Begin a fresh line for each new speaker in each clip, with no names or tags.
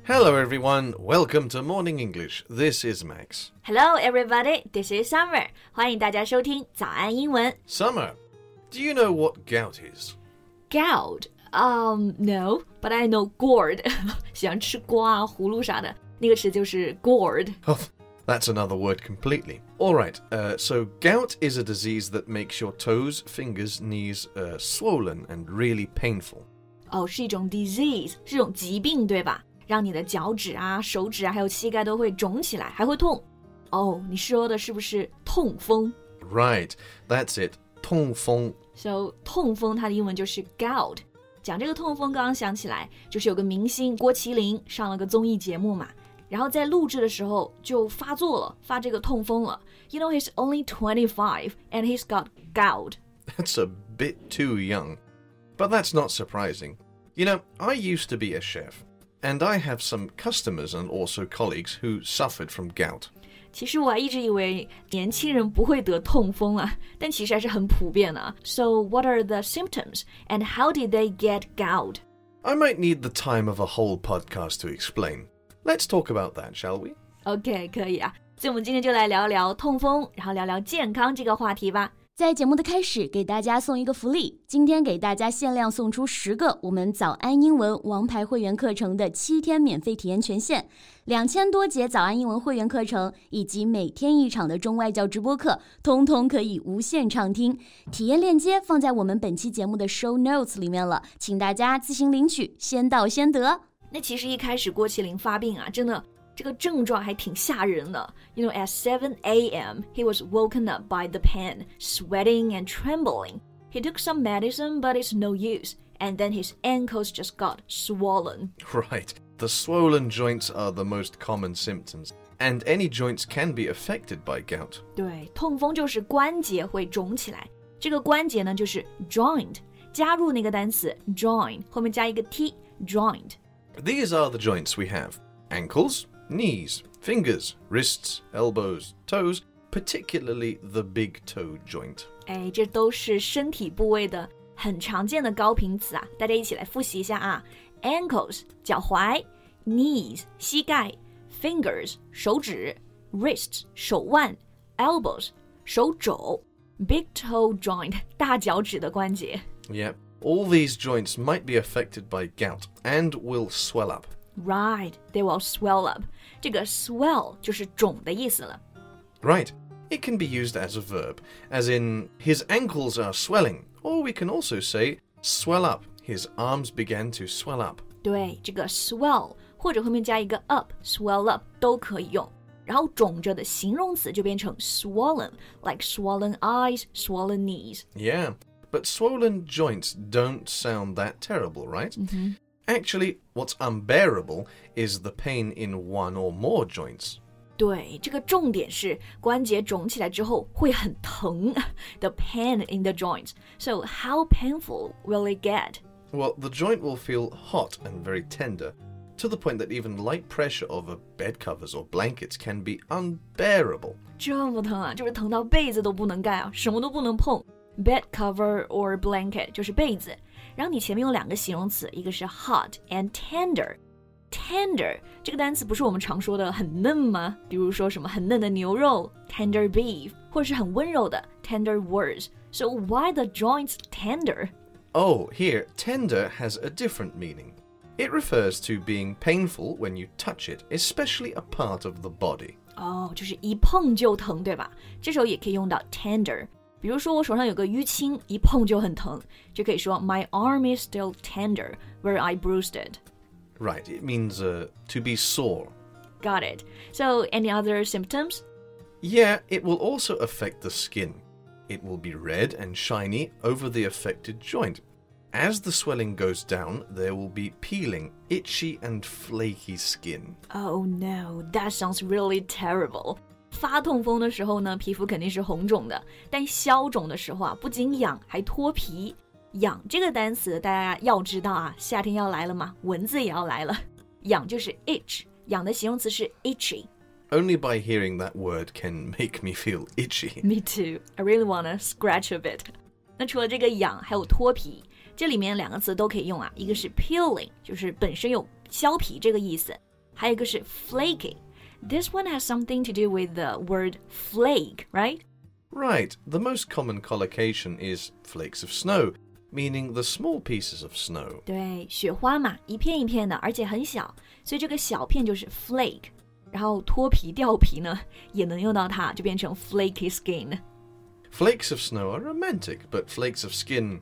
Hello everyone, welcome to Morning English. This is Max.
Hello everybody, this is Summer. 欢迎大家收听早安英文。
Summer, do you know what gout is?
Gout? No, but I know gourd. 喜欢吃瓜啊、葫芦啥的，那个词就是 gourd.
Oh, that's another word completely. Alright, so gout is a disease that makes your toes, fingers, knees swollen and really painful.
是一种 disease, 是一种疾病对吧？让你的脚趾啊、手指啊还有膝盖都会肿起来，还会痛。你说的是不是痛风？
Right, that's it. 痛风。
So 痛风它的英文就是 gout。讲这个痛风刚刚想起来，就是有个明星郭麒麟上了个综艺节目嘛，然后在录制的时候就发作了，发这个痛风了。You know he's only 25 and he's got gout.
That's a bit too young. But that's not surprising. You know, I used to be a chef.And I have some customers and also colleagues who suffered from gout.
其实我还一直以为年轻人不会得痛风啊，但其实还是很普遍的。So what are the symptoms and how did they get gout?
I might need the time of a whole podcast to explain. Let's talk about that, shall we?
OK, 可以啊。所以我们今天就来聊聊痛风，然后聊聊健康这个话题吧。
在节目的开始，给大家送一个福利，今天给大家限量送出10个我们早安英文王牌会员课程的7天免费体验权限，2000多节早安英文会员课程以及每天1场的中外教直播课，通通可以无限畅听。体验链接放在我们本期节目的 show notes 里面了，请大家自行领取，先到先得。
那其实一开始郭麒麟发病啊，真的这个症状还挺吓人的。You know, at 7 a.m., he was woken up by the pain, sweating and trembling. He took some medicine, but it's no use. And then his ankles just got swollen.
Right. The swollen joints are the most common symptoms, and any joints can be affected by gout.
对，痛风就是关节会肿起来。这个关节呢，就是 joint， 加入那个单词 join， 后面加一个 t, joint.
These are the joints we have. Ankles.Knees, fingers, wrists, elbows, toes, particularly the big toe joint.
这都是身体部位的很常见的高频词啊，大家一起来复习一下啊。Ankles 脚踝 ，knees 膝盖 ，fingers 手指 ，wrists 手腕 ，elbows 手肘 ，big toe joint 大脚趾的关节。
Yep, all these joints might be affected by gout and will swell up.Right,
they will swell up. 这个 swell 就是肿的意思了。
Right. It can be used as a verb, as in, his ankles are swelling. Or we can also say, swell up. His arms began to swell up.
对，这个 swell 或者后面加一个 up, swell up 都可以用。然后肿着的形容词就变成 swollen, like swollen eyes, swollen knees.
Yeah, but swollen joints don't sound that terrible, right? Actually, what's unbearable is the pain in one or more joints.
对，这个重点是关节肿起来之后会很疼 The pain in the joints. So how painful will it get?
Well, the joint will feel hot and very tender, to the point that even light pressure over bed covers or blankets can be unbearable.
这么疼啊，就是疼到被子都不能盖啊，什么都不能碰。Bed cover or blanket 就是被子。然后你前面有2个形容词，一个是 hot and tender。Tender 这个单词不是我们常说的很嫩吗？比如说什么很嫩的牛肉 tender beef， 或者是很温柔的 tender words. So why the joints tender?
Oh, here, tender has a different meaning. It refers to being painful when you touch it, especially a part of the body.
就是一碰就疼，对吧？这时候也可以用到 tender。比如说我手上有个淤青，一碰就很疼，就可以说 My arm is still tender where I bruised it.
Right, it means to be sore.
Got it. So any other symptoms?
Yeah, it will also affect the skin. It will be red and shiny over the affected joint. As the swelling goes down, there will be peeling, itchy and flaky skin.
Oh no, that sounds really terrible. 发痛风的时候呢，皮肤肯定是红肿的，但消肿的时候啊，不仅痒还脱皮。痒这个单词大家要知道啊，夏天要来了嘛，蚊子也要来了。痒就是 itch， 痒的形容词是 itchy。Only
by hearing that word can make me feel itchy.
Me too. I really wanna scratch a bit. 那除了这个痒，还有脱皮，这里面2个词都可以用啊，一个是 peeling， 就是本身有削皮这个意思， 还有一个是 flaky。This one has something to do with the word flake, right?
Right. The most common collocation is flakes of snow, meaning the small pieces of snow.
对，雪花嘛，一片一片的，而且很小，所以这个小片就是 flake。然后脱皮掉皮呢，也能用到它，就变成 flaky skin。
Flakes of snow are romantic, but flakes of skin,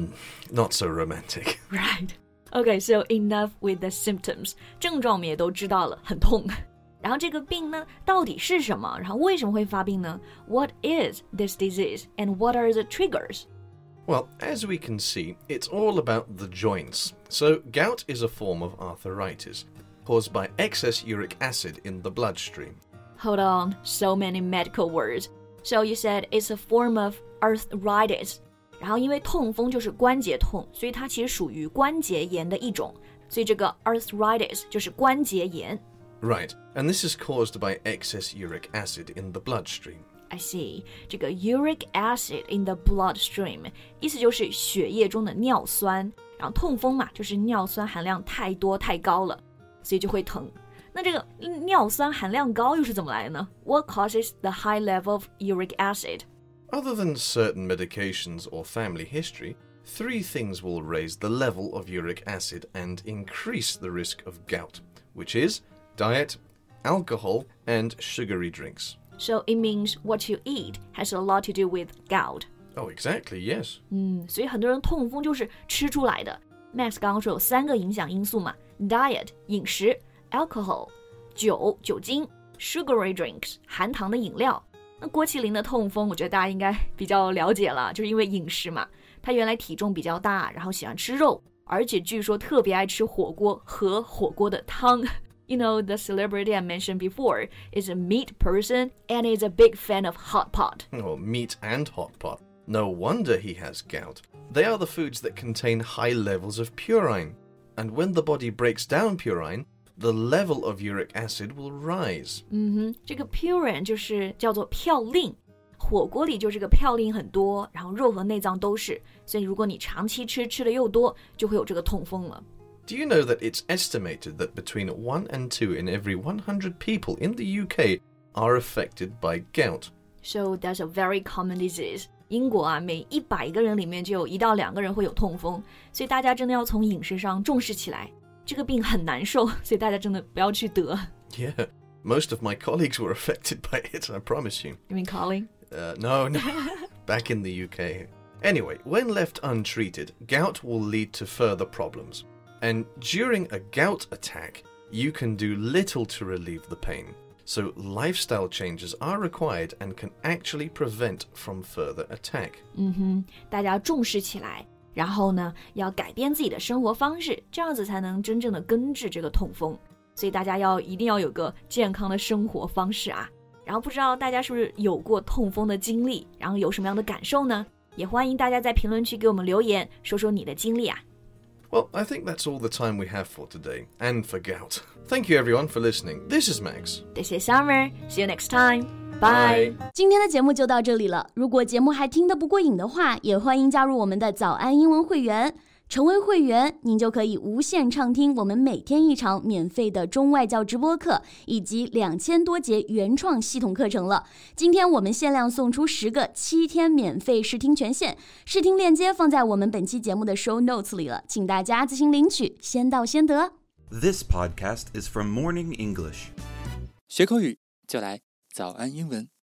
not so romantic.
Right. Okay, so enough with the symptoms. 症状我们也都知道了，很痛。然后这个病呢，到底是什么？然后为什么会发病呢？ What is this disease and what are the triggers?
Well, as we can see, it's all about the joints. So gout is a form of arthritis caused by excess uric acid in the bloodstream.
Hold on, so many medical words. So you said it's a form of arthritis. 然后因为痛风就是关节痛，所以它其实属于关节炎的一种，所以这个 arthritis 就是关节炎。
Right, and this is caused by excess uric acid in the bloodstream.
I see. 这个 uric acid in the bloodstream 意思就是血液中的尿酸，然后痛风嘛，就是尿酸含量太多太高了，所以就会疼。那这个尿酸含量高又是怎么来的呢？ What causes the high level of uric acid?
Other than certain medications or family history, 3 things will raise the level of uric acid and increase the risk of gout, which is diet, alcohol, and sugary drinks.
So it means what you eat has a lot to do with gout.
Oh, exactly, yes.
所以很多人痛风就是吃出来的。Max 刚刚说有3个影响因素嘛 ，diet 饮食 ，alcohol 酒精 ，sugary drinks 含糖的饮料。那郭麒麟的痛风，我觉得大家应该比较了解了，就是因为饮食嘛。他原来体重比较大，然后喜欢吃肉，而且据说特别爱吃火锅和火锅的汤。You know, the celebrity I mentioned before is a meat person and is a big fan of hot pot.
Oh, meat and hot pot. No wonder he has gout. They are the foods that contain high levels of purine. And when the body breaks down purine, the level of uric acid will rise.
这个 purine 就是叫做嘌呤，火锅里就这个嘌呤很多，然后肉和内脏都是，所以如果你长期吃的又多，就会有这个痛风了。
Do you know that it's estimated that between 1 and 2 in every 100 people in the UK are affected by gout?
So that's a very common disease. 英国啊，每100个人里面就有1到2个人会有痛风，所以大家真的要从饮食上重视起来。这个病很难受，所以大家真的不要去得。
Yeah, most of my colleagues were affected by it, I promise you.
You mean Colin?
No, back in the UK. Anyway, when left untreated, gout will lead to further problems. And during a gout attack, you can do little to relieve the pain. So lifestyle changes are required and can actually prevent from further attack.
大家重视起来，然后呢，要改变自己的生活方式，这样子才能真正的根治这个痛风。所以大家一定要有个健康的生活方式啊。然后不知道大家是不是有过痛风的经历，然后有什么样的感受呢？也欢迎大家在评论区给我们留言，说说你的经历啊。
Well, I think that's all the time we have for today, and for gout. Thank you everyone for listening. This is Max.
This is Summer. See you next time. Bye.
今天的节目就到这里了。如果节目还听得不过瘾的话，也欢迎加入我们的早安英文会员。成为会员，您就可以无限畅听我们每天1场免费的中外教直播课，以及2000多节原创系统课程了。今天我们限量送出10个7天免费试听权限，试听链接放在我们本期节目的 show notes 里了，请大家自行领取，先到先得。
This podcast is from Morning English.
学口语就来早安英文。